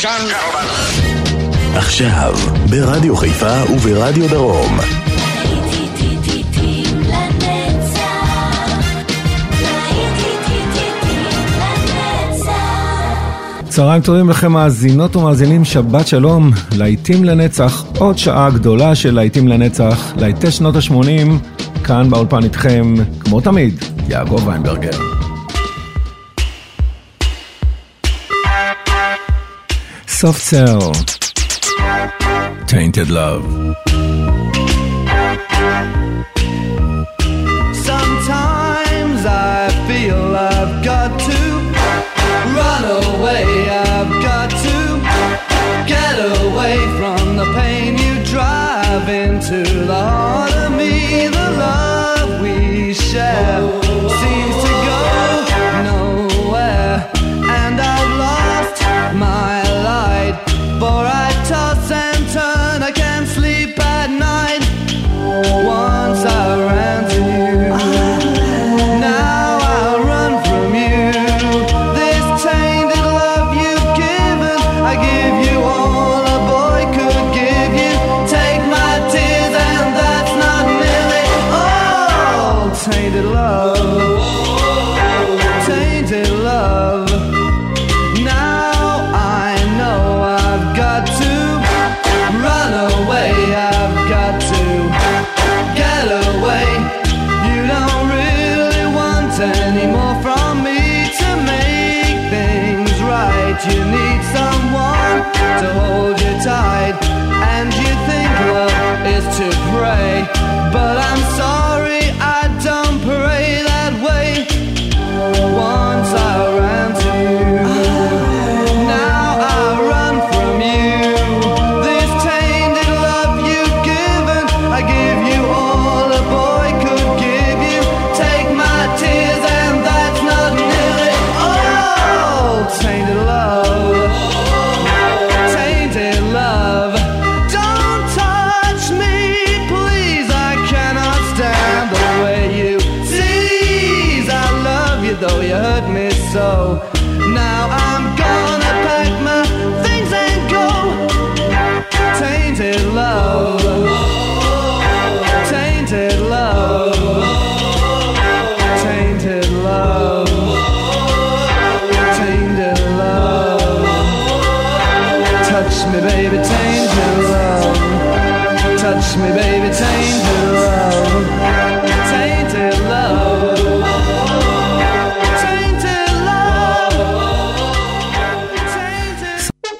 עכשיו, ברדיו חיפה וברדיו דרום. צהריים טובים לכם מאזינות ומאזינים, שבת שלום, להיטים לנצח, עוד שעה גדולה של להיטים לנצח, להיטי שנות ה-80, כאן באולפן איתכם, כמו תמיד, יעקב ויינברגר. Soft Cell, Tainted Love. Sometimes I feel I've got to run away, I've got to get away from the pain you drive into the heart of me. The love we share seems to go nowhere, and I've lost my light, for I toss and turn, I can't sleep at night. Once I ran to you, now I run from you. This tainted love you've given, I give you all a boy could give you. Take my tears and that's not nearly all. Tainted love, tainted love. Now I know I've got to run away, I've got to get away. You don't really want any more from me to make things right. You need someone to hold you tight, and you think love is to pray, but I'm sorry, I don't pray that way. Once I ran to you, now I run from you. This tainted love you've given, I give you all a boy could give you. Take my tears and that's not nearly all. Tainted love, tainted love. Don't touch me, please, I cannot stand the way you tease. I love you though you hurt me so. Now I'm gonna pack my things and go. Tainted love, tainted love, tainted love, tainted love. Touch me baby, tainted love. Touch me baby, tainted love. Tainted love, tainted love, tainted.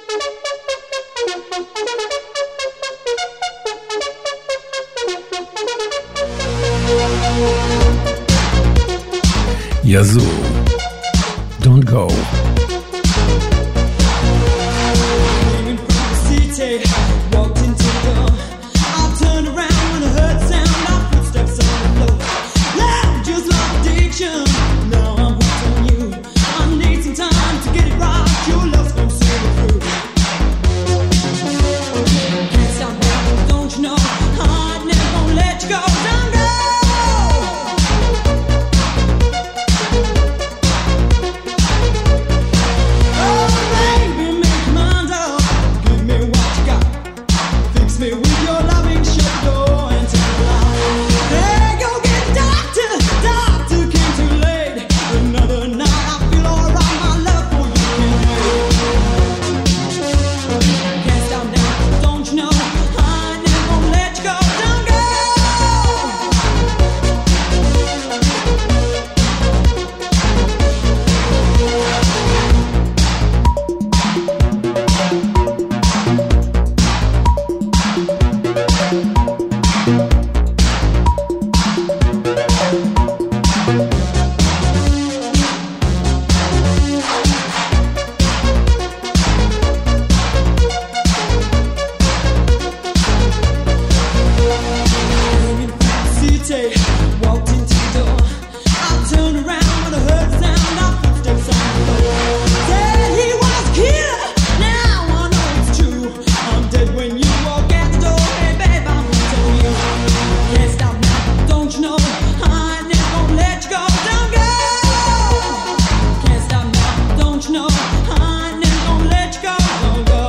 Yazoo, Don't Go. Leaving from the city, walked into the door. I turned around when I heard the sound of footsteps on the floor. Love just like addiction. Now I'm hooked on you. I need some time to get it right. Your love's gonna see me through. Can't stop now, don't you know? I'm never gonna let you go. Don't go. Oh, baby, make your mind up. Give me what you got. Fix me with your loving, shut the door and take the light. Hey, go get a doctor. Doctor came too late. Another night, I feel alright. My love for you can't wait. Can't stop now, don't you know? I'm never gonna let you go. Don't go. City, walked into the door. I turned around when I heard the sound of footsteps on the floor. Said he was a killer. Now I know it's true. I'm dead when you walk out the door. Hey babe, I'm gonna tell you. Can't stop now, don't you know? I'm never gonna let you go. Don't go. Can't stop now, don't you know? I'm never gonna let you go. Don't go.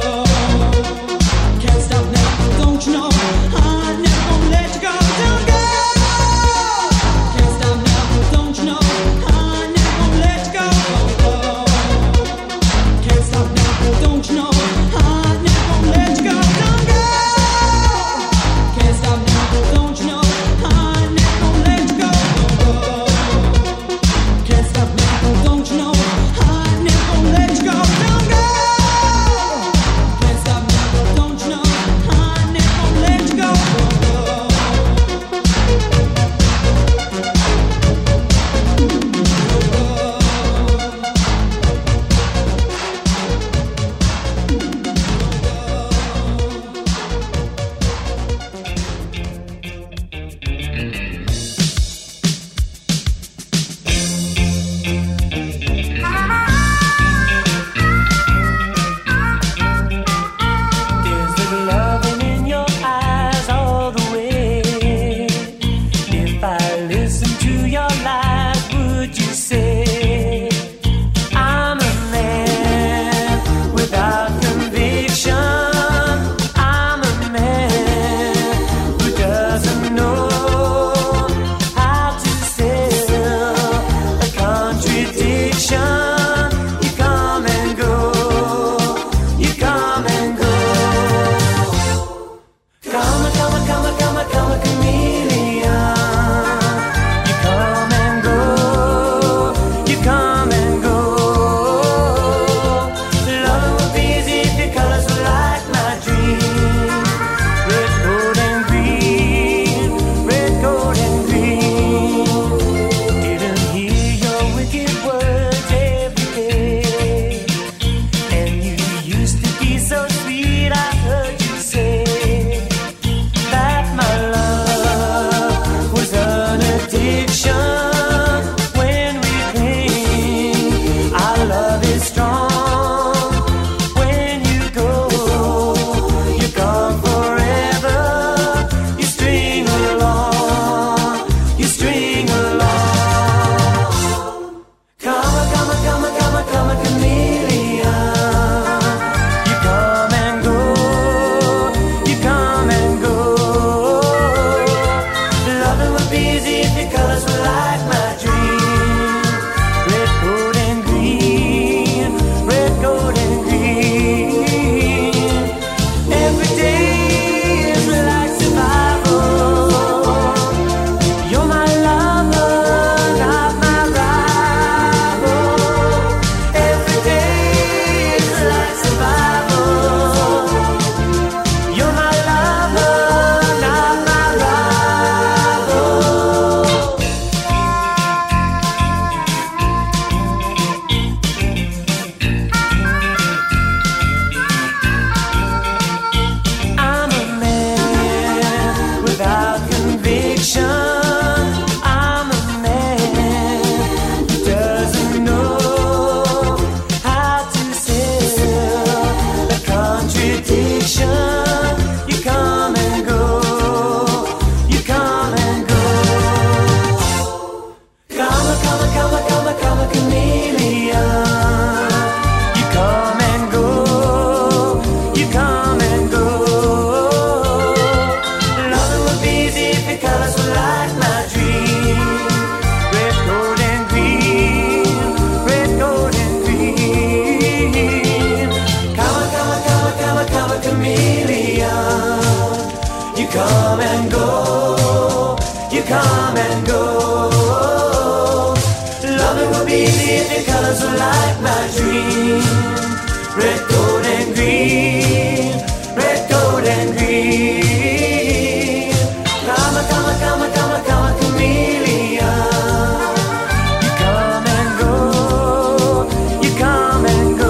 Loving would be easy if your colors were like my dream. Red, gold, and green. Red, gold, and green. Come, come, come, come, come, chameleon. You come and go. You come and go.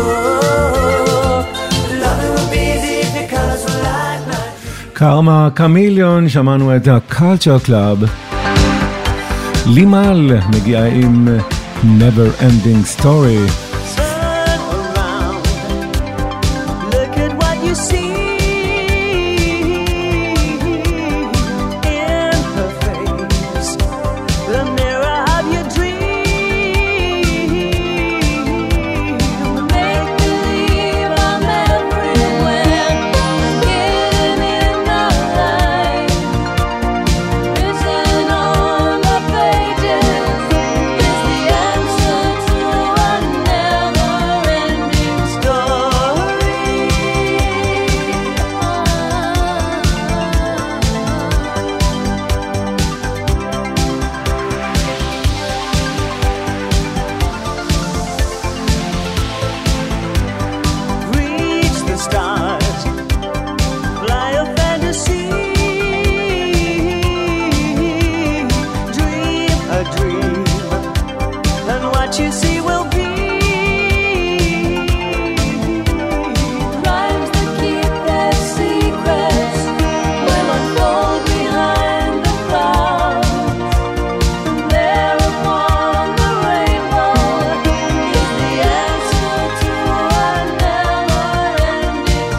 Loving would be easy if your colors were like my dream. קרמה קמיליון, שמענו את הקולצ'ר קלאב. לימל מגיעה עם Never Ending Story. Turn around, look at what you see in her face, the mirror of your dream. Make believe I'm everywhere, hidden in the light, written on the pages is the answer to a never-ending story. Reach the stars, fly a fantasy, dream a dream, and what you see will be. Rhymes that keep their secrets will unfold behind the clouds. There upon the rainbow is the answer to a never-ending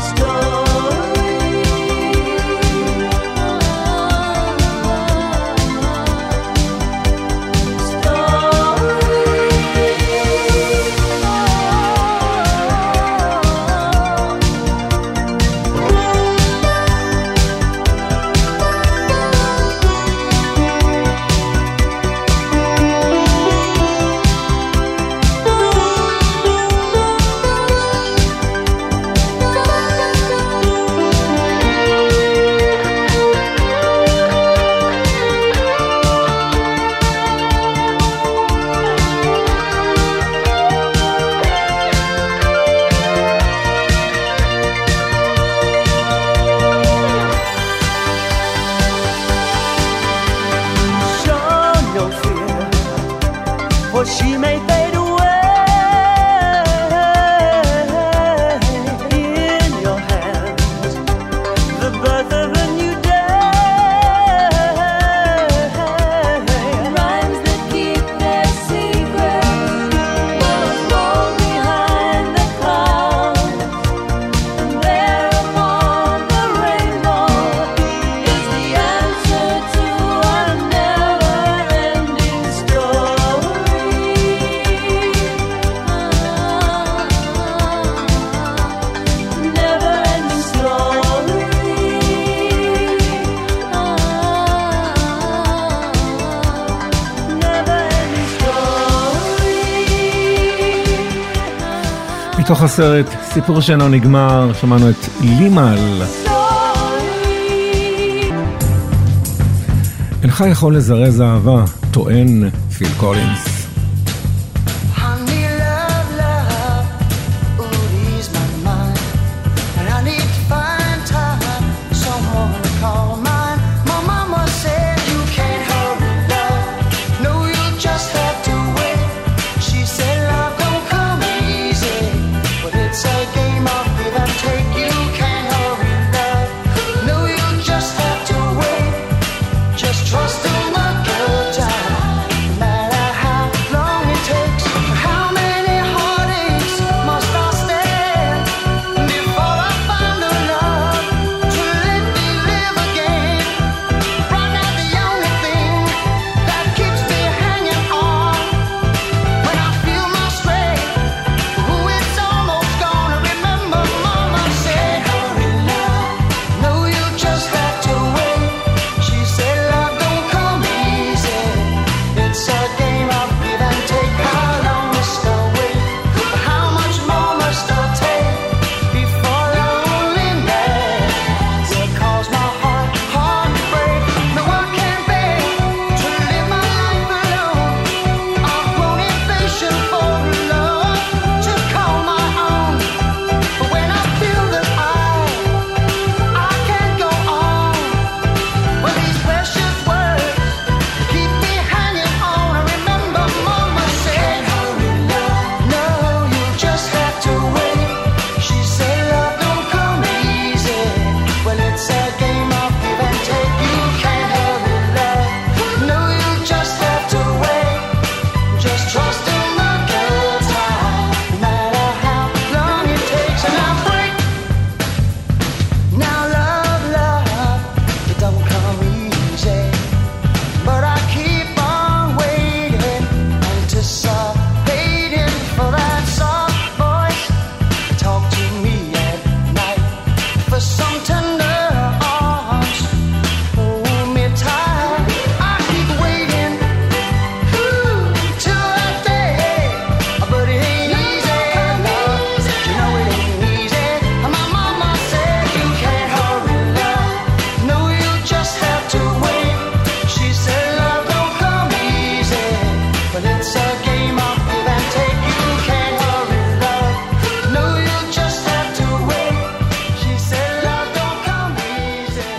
Show no fear, for she may fade away. In your hands, the birth of a new day. Rhymes that keep their secrets will unfold behind the clouds. And there upon the rainbow is the answer to a never-ending story. Never-ending story. Never-ending story. מתוך הסרט סיפור שאינו נגמר, שמענו את לימל. אינך יכול לזרז אהבה, טוען פיל קולינס. Honey, love, love, ooh, ease my mind. And I need to find time, someone to call mine. My mama said you can't hurry love. No, you just have to wait. She said love don't come easy, but it's a game of give and take. You can't hurry love. No, you just have to wait. Just trust in the good time, no matter how but it's a game of give and take. You can't hurry love, no, you just have to wait. She said love don't come easy.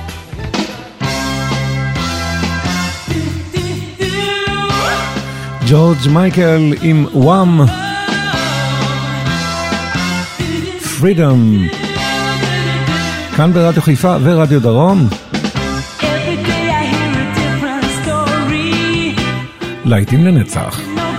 ג'ורג' מייקל עם וואם, פרידום, כאן ברדיו חיפה ורדיו דרום. להיטים לנצח.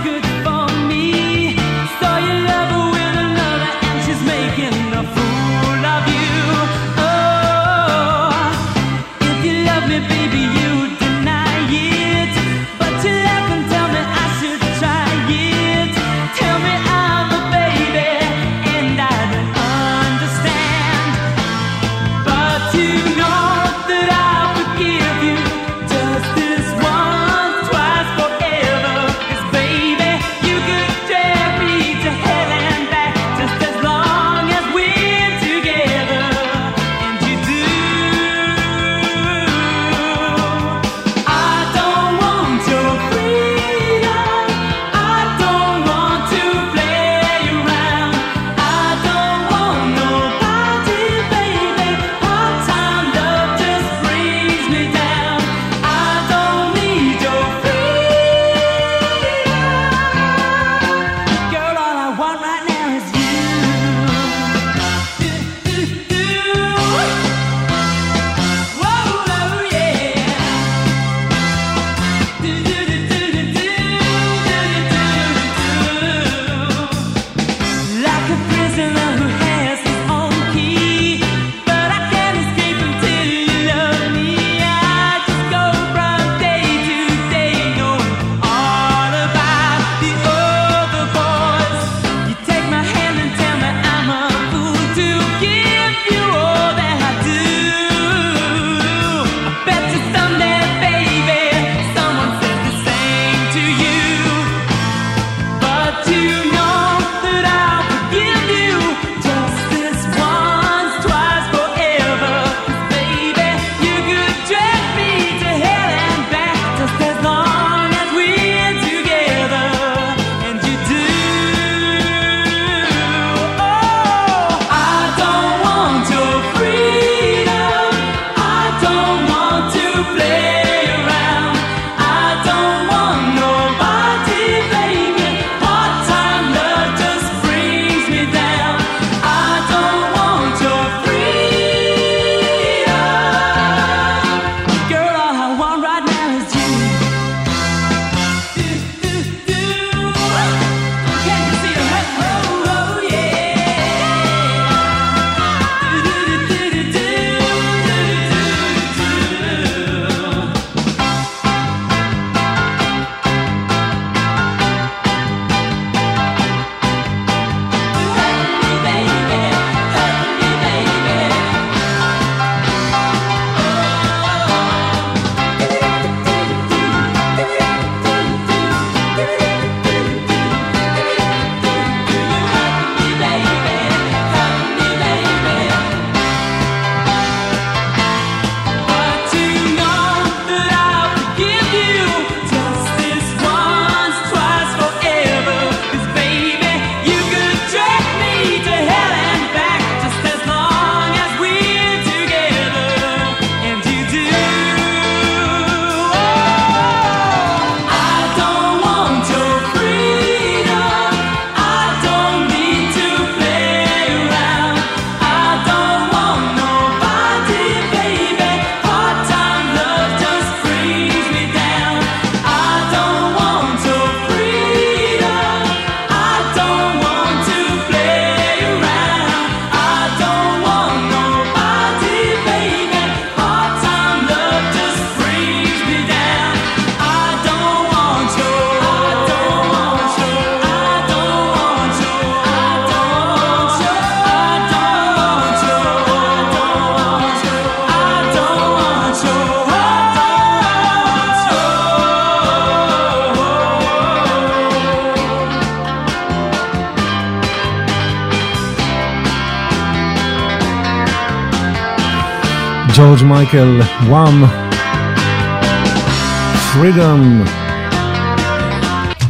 ג'ורג' מייקל, וואם, פרידום.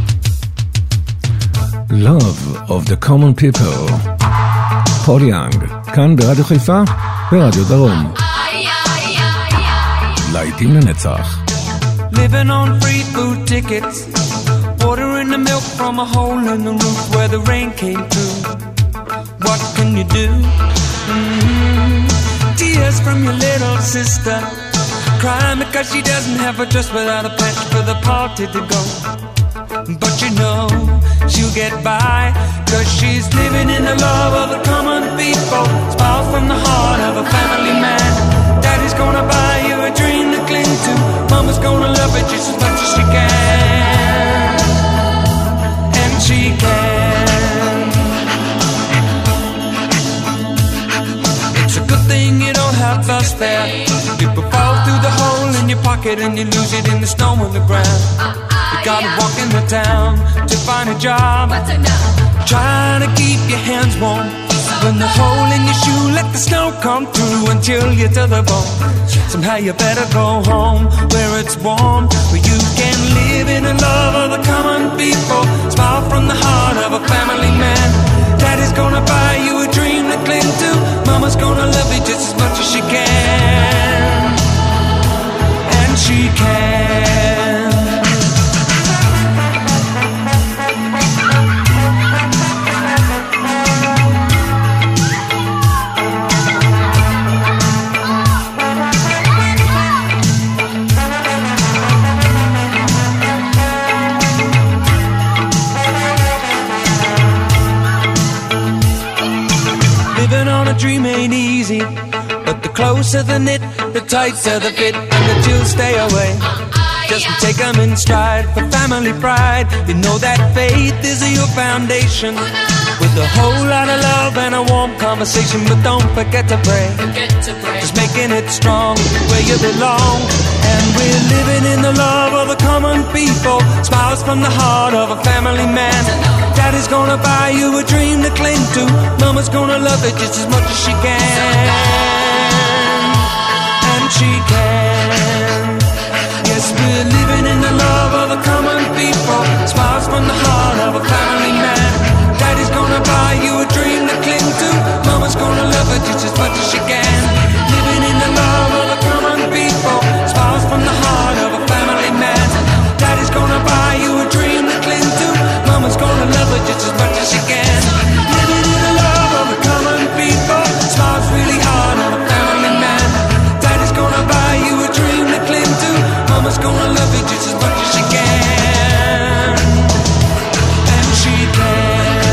Love of the Common People. פול יאנג, כאן ברדיו חיפה, ברדיו דרום. להיטים לנצח. Living on free food tickets, watering the milk from a hole in the roof where the rain came through. What can you do? Tears from your little sister, crying because she doesn't have a dress without a patch for the party to go. But you know she'll get by, 'cause she's living in the love of the common people. Smiles from the heart of a family man. Daddy's gonna buy you a dream to cling to. Mama's gonna love it just as much as she can. And she can. It's a good thing you don't have the spare. People fall through the hole in your pocket and you lose it in the snow on the ground. You gotta walk in the town to find a job. Trying to keep your hands warm. When the hole in your shoe, let the snow come through and chill you to the bone. Somehow you better go home where it's warm, where you can live in the love of the common people. Smile from the heart of a family man. Daddy's gonna buy you a dream to cling to. Mama's gonna love you just as much as she can. And she can. Dream ain't easy, but the closer the knit, the tighter the fit, and the chills stay away. Just take them in stride for family pride. You know that faith is your foundation, with a whole lot of love and a warm conversation. But don't forget to pray, just making it strong where you belong. And we're living in the love of the common people. Smiles from the heart of a family man. Daddy's gonna buy you a dream to cling to. Mama's gonna love it just as much as she can. And she can. Yes, we're living in the love of the common people. Smiles from the heart of a family man. Daddy's gonna buy you a dream to cling to. Mama's gonna love it just as much as she can. Living in the love of the common people. Smiles from the heart of a family man. Daddy's gonna buy you a dream to cling to. Mama's gonna love it just as much as she can. Living in the love of the common people. Smiles really hard on a family man. Daddy's gonna buy you a dream to cling to. Mama's gonna love it just as much as she can. And she can.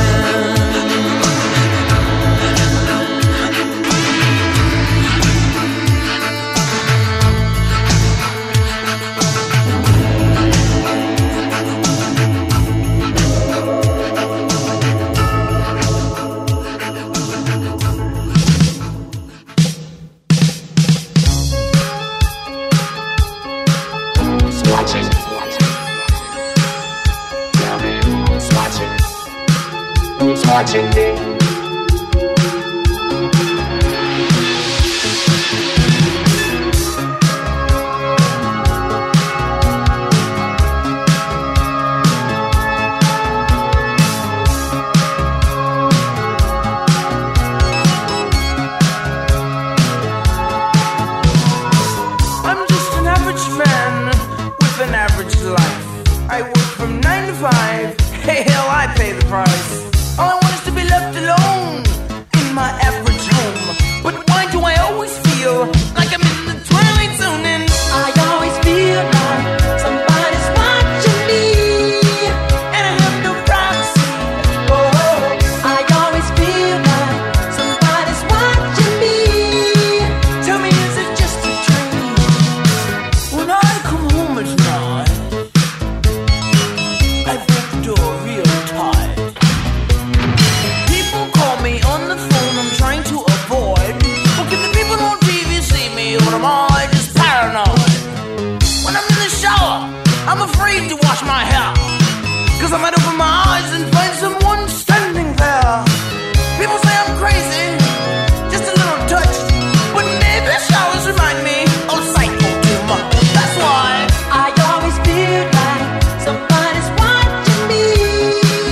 Watching me. I'm just an average man with an average life. I work from 9 to 5. Hey, hell, I pay the price. All I want is to be left alone in my average home. But why do I always feel like I'm in the twilight zone? And I always feel like somebody's watching me, and I have no privacy. Oh, I always feel like somebody's watching me. Tell me, is it just a dream? When I come home at night, I break the door real tight. People call me on the phone, I'm trying to avoid. But can the people on TV see me, or am I just paranoid? When I'm in the shower, I'm afraid to wash my hair, 'cause I might open my eyes and find someone standing there. People say I'm crazy, just a little touched, but maybe showers remind me of psycho too much. That's why I always feel like somebody's watching me.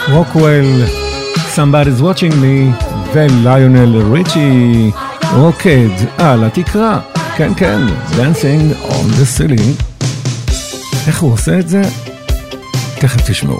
רוקוול, Somebody's Watching Me, וליונל ריצ'י, רוקד על התקרה, כן כן, Dancing on the Ceiling. איך הוא עושה את זה? תכף תשמעו.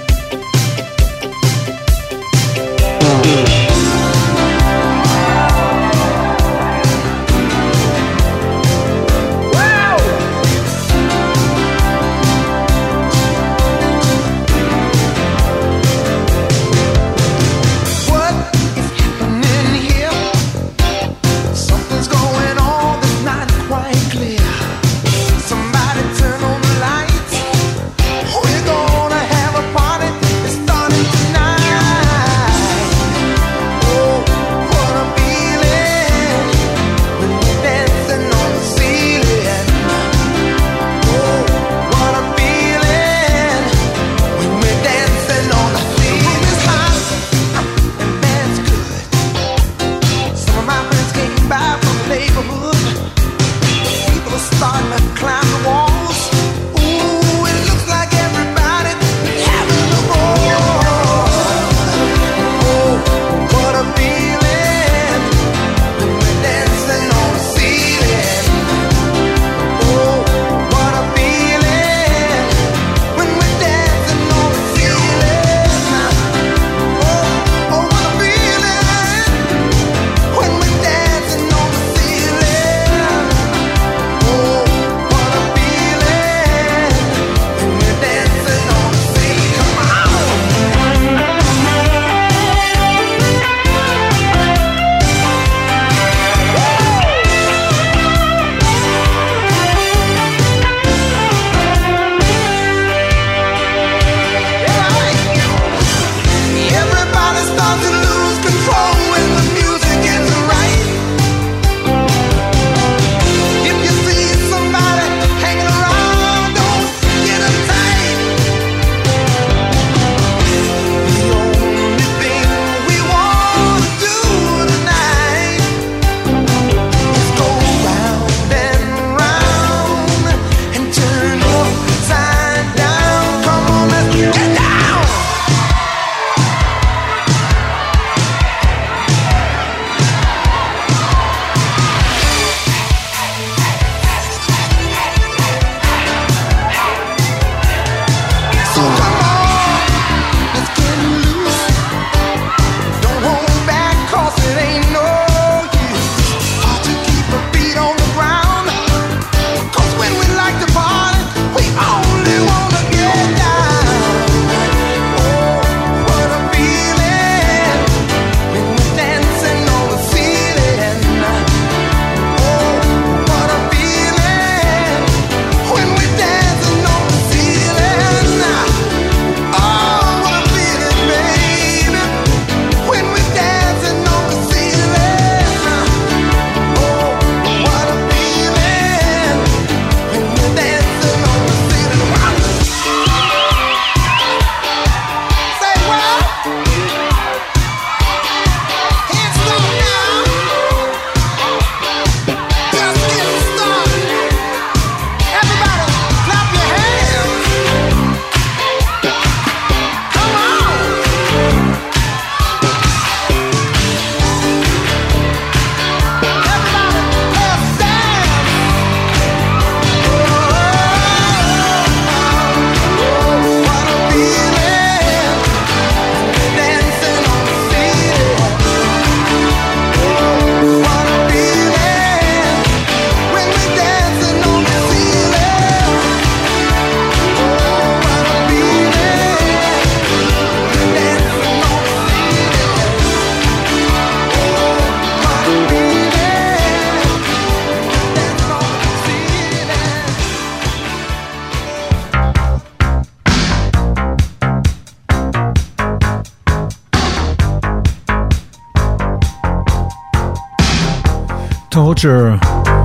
Torture,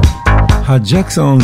הג'קסונס.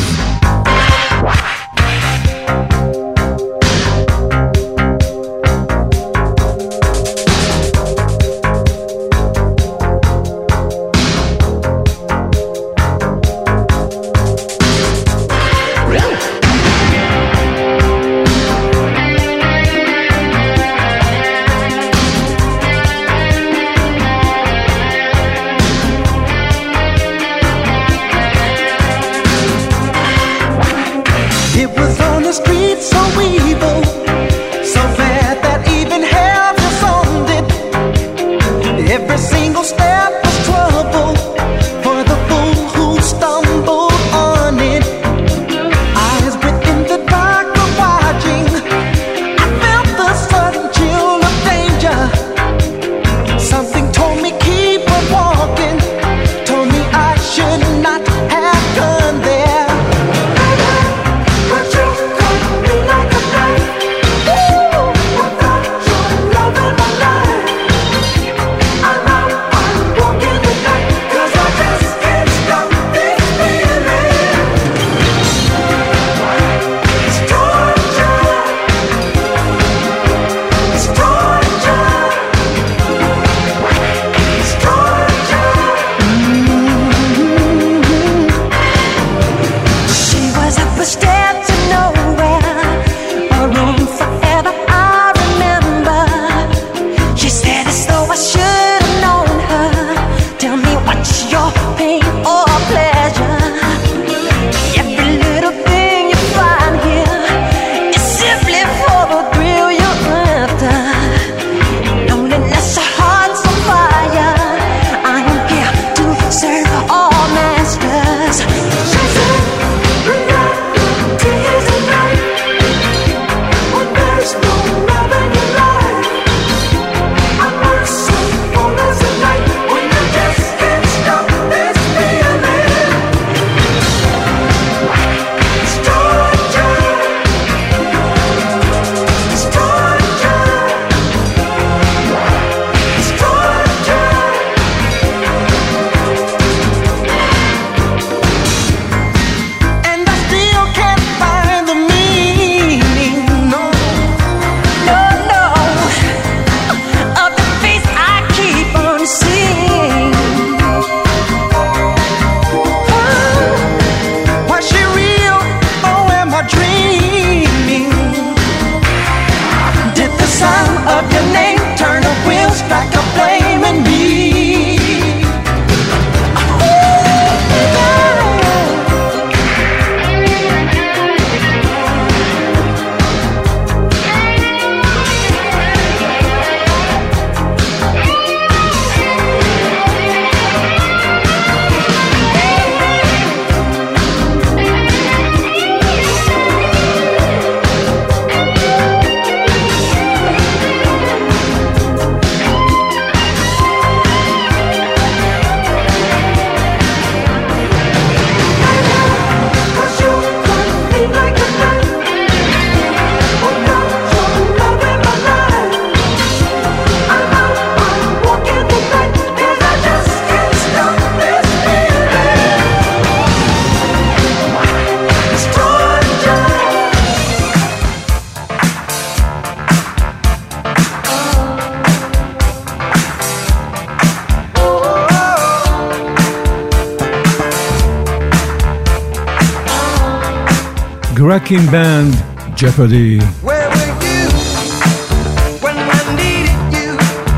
Wrecking Band, Jeopardy. Where were you when I needed you?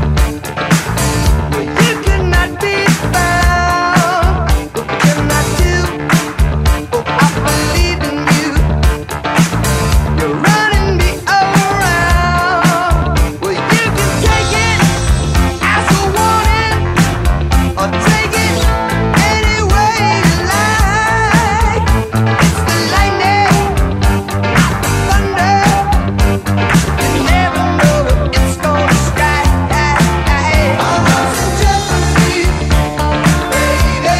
Well, you could not be found. What can I do? Oh, I believe in you. You're running me around. Well, you can take it as a warning, or take it any way you like. It's the lightning, thunder. You never know when it's gonna strike. Our love's in jeopardy, baby.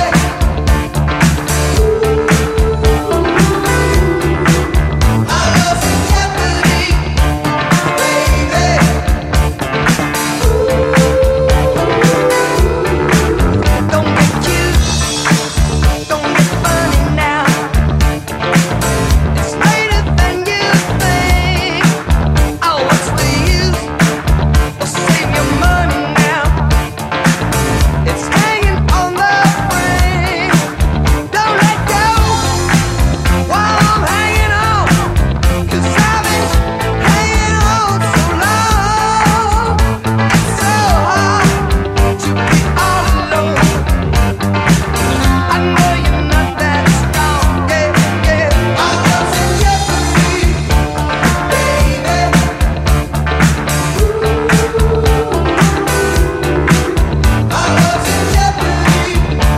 Our love's in jeopardy, baby. Don't get cute, don't get funny now. It's later than you think. Oh, what's the use? Well, save your money now. It's hanging on the ring. Don't let go while I'm hanging on, 'cause I've been hanging on so long. It's so hard to be all alone. I know you're not that strong, yeah, yeah. Our love's in jeopardy, baby. Our love's in jeopardy,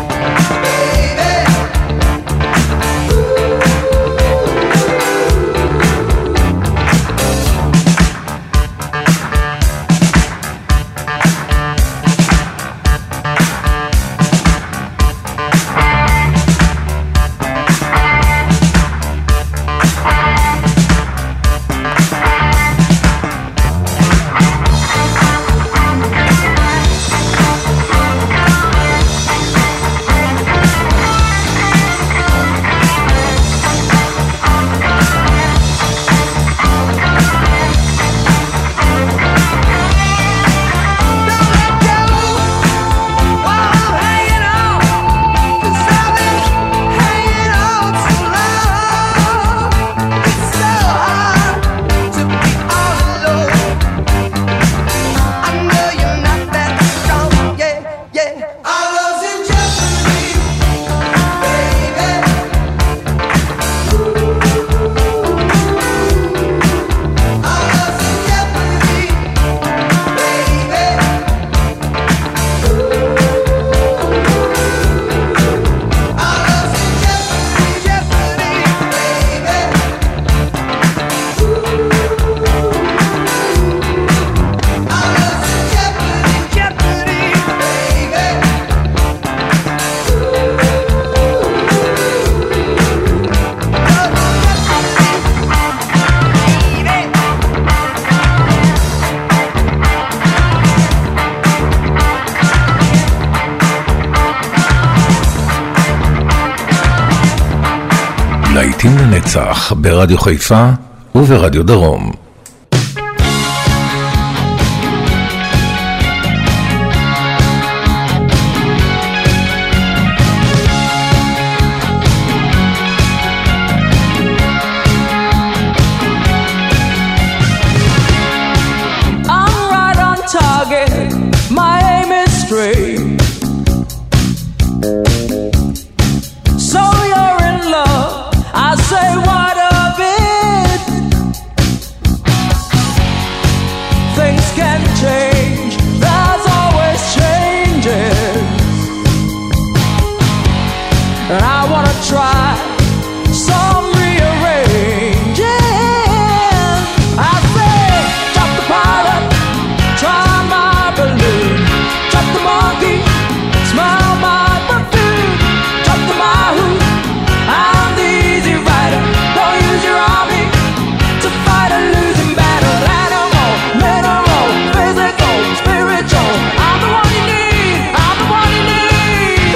להיטים לנצח ברדיו חיפה וברדיו דרום. I'm right on target, my aim is straight. So you're in love, I say what of it? Things can change, there's always changes. And I wanna try some rearranging. I say, drop the pilot, try my balloon. Drop the monkey, smell my perfume. Drop the Mahu, I'm the easy rider. Don't use your army to fight a losing battle. Animal, mineral, physical, spiritual. I'm the one you need, I'm the one you need.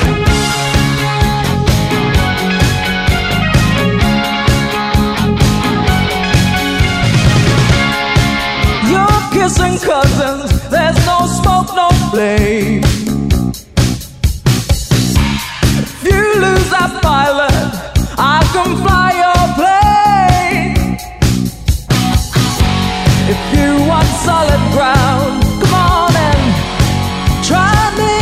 You're kissing cousins, there's no smoke, no flame. If you lose that pilot, I can fly your plane. solid ground. Come on and try me.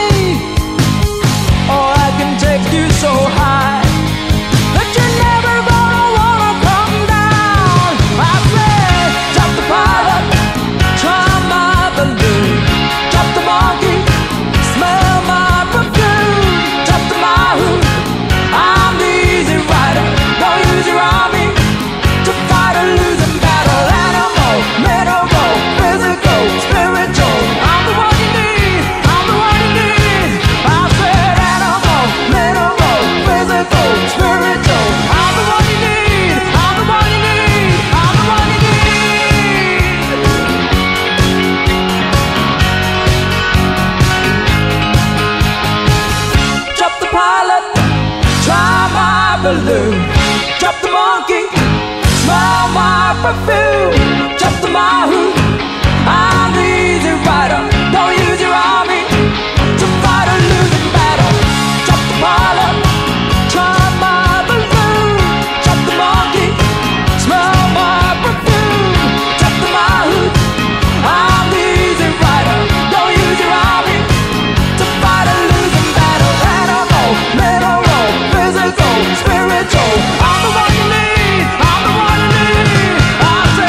Oh, I can take you so high that you're never gonna wanna come down. I say, drop the pilot, try my balloon. Drop the monkey, smell my perfume. Drop the Mahout, I'm the easy rider. Don't use your army to fight a losing battle. Animal, mineral, physical, spiritual. I'm the one you need, I'm the one you need. I said animal, mineral, physical, spiritual. I'm the one you need, I'm the one you need, I'm the one you need. Drop the pilot, try my balloon. Drop the monkey, smell my perfume. Drop the Mahout, I'm the easy rider. Don't use your army to fight a losing battle. Drop the pilot, try my balloon. Drop the monkey, smell my perfume. Drop the Mahout, I'm the easy rider. Don't use your army to fight a losing battle. Animal, mineral, physical, spiritual. I'm the one you need, I'm the one you need. I say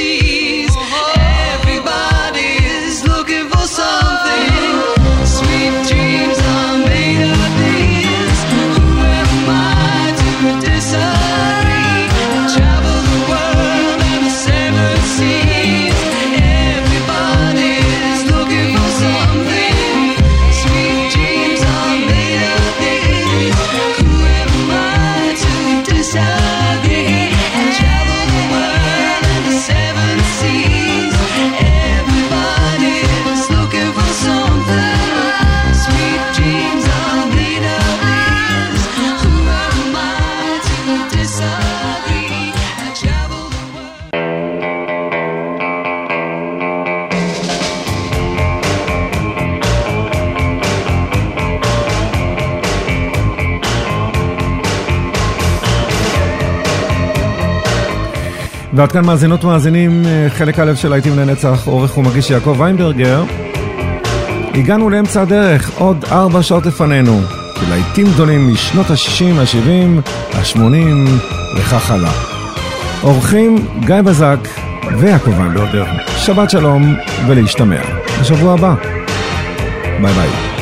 seas. Everybody's looking for something. Sweet dreams are made of these. Who am I to disagree? Travel the world and the seven seas. Everybody's looking for something. Sweet dreams are made of these. Who am I to disagree? Travel the world and the seven seas. Everybody's looking for something. Sweet dreams are made of these. Who am I to disagree? I travel the world. ועד כאן מאזינות ומאזינים, חלק א' של להיטים לנצח, עורך ומגיש יעקב ויינברגר. הגענו לאמצע הדרך, עוד 4 שעות לפנינו, להיטים גדולים משנות ה-60, ה-70, ה-80 וכך הלאה. עורכים גיא בזק ויעקב ויינברגר. שבת שלום ולהשתמע בשבוע הבא. ביי ביי.